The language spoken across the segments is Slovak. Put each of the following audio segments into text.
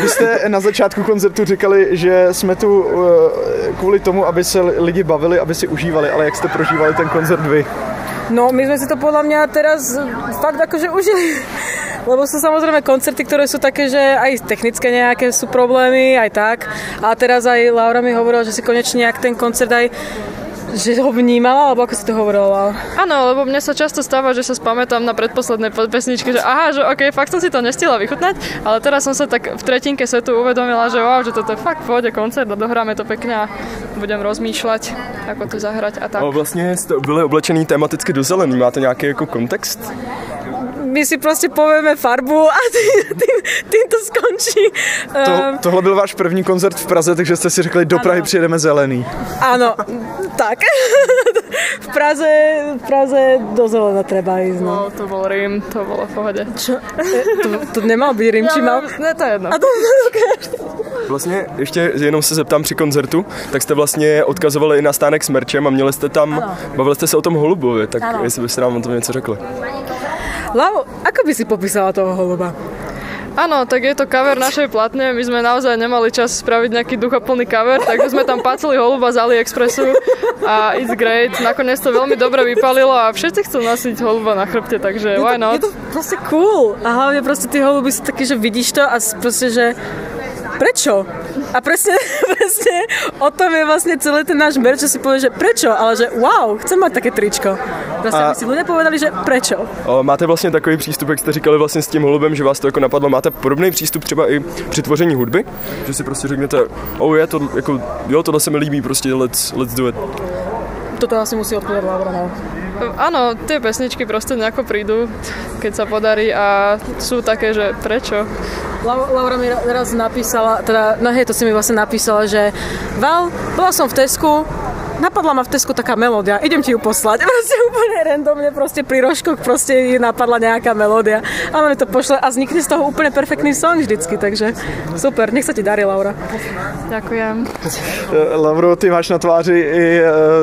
Vy jste na začátku koncertu říkali, že jsme tu kvůli tomu, aby se lidi bavili, aby si užívali, ale jak jste prožívali ten koncert vy? No, my sme si to podľa mňa teraz fakt akože užili. Lebo sú samozrejme koncerty, ktoré sú také, že aj technické nejaké sú problémy, aj tak. A teraz aj Laura mi hovorila, že si konečne nejak ten koncert aj že ho vnímala, alebo ako si to hovorila? Áno, lebo mne sa často stáva, že sa spamätám na predposlednej pesničke, že aha, že okej, fakt som si to nestihla vychutnať, ale teraz som sa tak v tretinke setu uvedomila, že wow, že toto je fakt pôjde koncert a dohráme to pekne a budem rozmýšľať, ako to zahrať a tak. No, vlastně jste byli oblečený tematicky do zelený, máte nějaký jako kontext? My si prostě povieme farbu a tým to skončí. Tohle byl váš první koncert v Praze, takže jste si řekli, do Prahy přijedeme zelený. Áno, tak. V Praze do zelena treba ísť. No. To bol Rím, to bolo v pohode. Čo? To nemal byť Rím, či mal? Ne, to je jedno. Vlastně ještě jenom se zeptám při koncertu, tak jste vlastně odkazovali i na stánek s merčem a měli jste tam, bavili jste se o tom holubovi, tak jestli byste nám o tom něco řekli. Lau, ako by si popísala toho holuba? Áno, tak je to cover našej platne. My sme naozaj nemali čas spraviť nejaký duchoplný cover, takže sme tam pacili holuba z AliExpressu a it's great. Nakoniec to veľmi dobre vypalilo a všetci chcú nosiť holuba na chrbte, takže why not? Je to proste cool. A hlavne proste tí holuby sú takí, že vidíš to a proste, že prečo? A presne o tom je vlastne celý ten náš merch, že si povie, že prečo, ale že wow, chcem mať také tričko. Proste by si ľudia povedali, že prečo. Máte vlastně takový přístup, jak jste říkali vlastně s tím holubem, že vás to jako napadlo, máte podobný přístup třeba i při tvoření hudby? Že si prostě řeknete, je to jako, jo, tohle se mi líbí, prostě let's do it. Toto asi musí odpovedať Laura, no. Áno, tie pesničky proste nejako prídu, keď sa podarí a sú také, že prečo? Laura mi raz napísala, to si mi vlastne napísala, že Val, bola som v Tesku, napadla ma v Tesku taká melódia, idem ti ju poslať. Proste úplne randomne, proste pri rožkoch proste napadla nejaká melódia. A ona mi to pošle a vznikne z toho úplne perfektný song vždycky, takže super, nech sa ti darí, Laura. Ďakujem. Lauro, ty máš na tváři i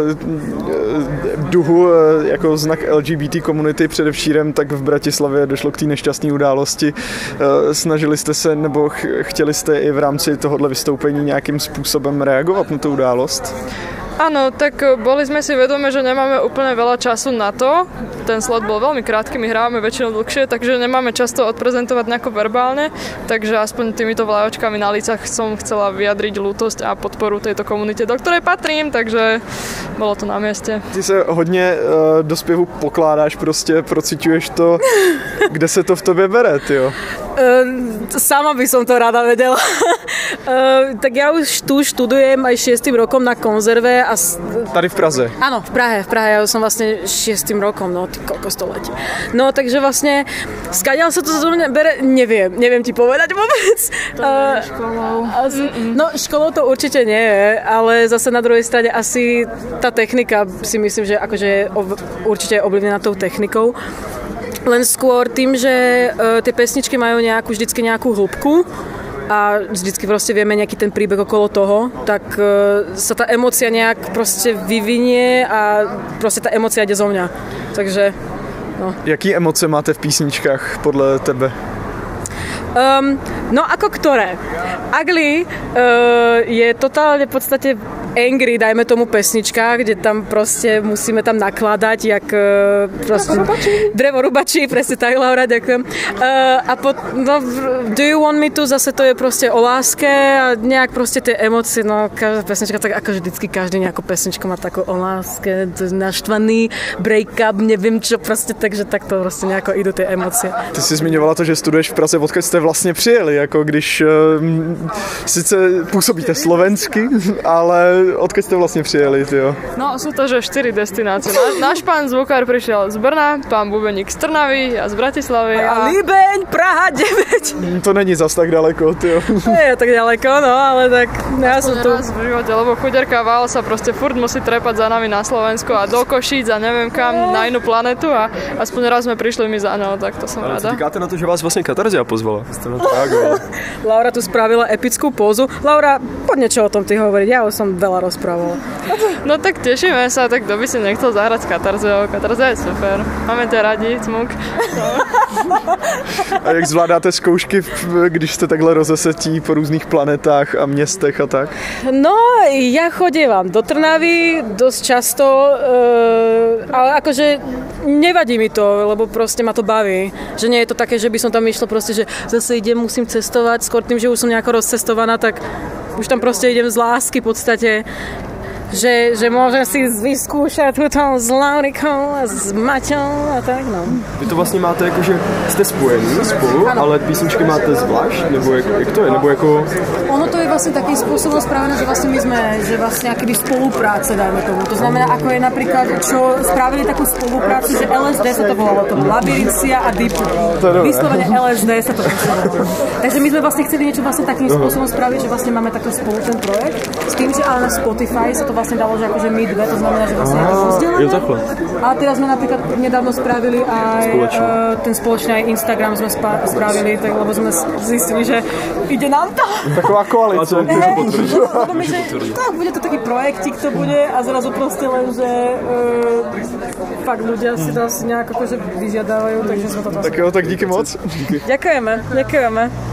duhu jako znak LGBT komunity, především tak v Bratislavě došlo k té nešťastné události. Snažili jste se, nebo chtěli jste i v rámci tohohle vystoupení nějakým způsobem reagovat na tu událost? Áno, tak boli sme si vedomi, že nemáme úplne veľa času na to. Ten slot bol veľmi krátky, my hrávame väčšinou dlhšie, takže nemáme často odprezentovať nejako verbálne, takže aspoň týmito vlajočkami na lícach som chcela vyjadriť ľútosť a podporu tejto komunite, do ktorej patrím, takže bolo to na mieste. Ty se hodně do zpěvu pokládáš, prostě prociťuješ to, kde se to v tobě bere, tyjo? Sama by som to rada vedela. Tak ja už tu študujem aj 6. rokom na konzerve. Tady v Praze? Áno, v Prahe. Ja som vlastne 6. rokom, no ty koľko to letí. No takže vlastne, skadiaľ sa to do mňa bere, neviem ti povedať vôbec. To nie je školou. No školou to určite nie je, ale zase na druhej strane asi tá technika si myslím, že akože určite je ovlivnená tou technikou. Len skôr tým, že tie pesničky majú vždycky nejakú hĺbku a vždycky proste vieme nejaký ten príbeh okolo toho, tak sa tá emócia nejak proste vyvinie a proste tá emócia ide zo mňa. Takže, no. Jaký emoce máte v písničkách podle tebe? No ako ktoré? Ugly je totálne v podstate angry, dajme tomu pesnička, kde tam proste musíme tam nakladať jak proste drevorubači, presne tak, Laura, ďakujem. Do you want me to, zase to je proste o láske a nejak proste tie emócie, no každá pesnička, tak ako vždycky každý nejakú pesničku má takú o láske, naštvaný break-up, neviem čo, proste, takže takto proste nejako idú tie emócie. Ty si zmiňovala to, že studuješ v Praze, odkud jste vlastně přijeli, jako když sice působíte slovensky, ale odkud jste vlastně přijeli, tyjo? No, sú to, že 4 destinácie. Náš pán zvukár prišiel z Brna, pán bubeník z Trnavy, ja z Bratislavy. A Líbeň, Praha 9. To není zas tak daleko, tyjo. Nie je tak ďaleko, no, ale tak ja som tu. Raz v živote, lebo chuderka Val sa proste furt musí trepať za nami na Slovensko a do Košíc a neviem kam, na inú planetu a aspoň raz sme prišli my za ňou, tak to som rada. Co říkáte na to, že vás vlastně Katarzia pozvala? Laura tu spravila epickú pózu. Laura, poď niečo o tom ty hovoriť, ja už som veľa rozprávala. No tak tešíme sa, tak kto by si nechcel zahrať s Katarziou. Katarzia je super. Máme ťa radi, cmuk. No. A jak zvládáte zkoušky, když jste takhle rozesetí po různých planetách a městech a tak? No, ja chodievam do Trnavy dosť často, ale akože nevadí mi to, lebo proste ma to baví. Že nie je to také, že by som tam išla proste, že zase idem, musím cestovať, skôr tým, že už som nejako rozcestovaná, tak už tam proste idem z lásky v podstate. Že môžem si vyskúšať túto s Laurikou a s Maťou a tak, no. Vy to vlastně máte jako, že jste spojení spolu, ano. Ale písničky máte zvlášť? Nebo jak to je? Nebo jako... Ono to je vlastne takým spôsobom spravené, že vlastne my sme, že vlastne akýby spolupráce, dajme tomu. To znamená, ako je napríklad, čo spravili takú spoluprácu, že LSD sa to volalo, to Labyrinthia a Deep. Vyslovene LSD sa to volalo. Takže my sme vlastne chceli niečo vlastne takým spôsobom spraviť, že vlastne máme takto spolu ten projekt, s tým, že ale na Spotify sa to vlastne dalo, že akože my dve, to znamená, že vlastne rozdelené. A teraz sme napríklad nedávno spravili aj ten spoločný aj Instagram sme spravili, tak, lebo sme zistili, že ide nám to. Taková koalice. Tak bude to taký projektík, to bude a zrazu proste len, že fakt ľudia si to asi nejak akože vyžiadávajú, takže sme to tam. Tak jo, tak díky moc. Ďakujeme.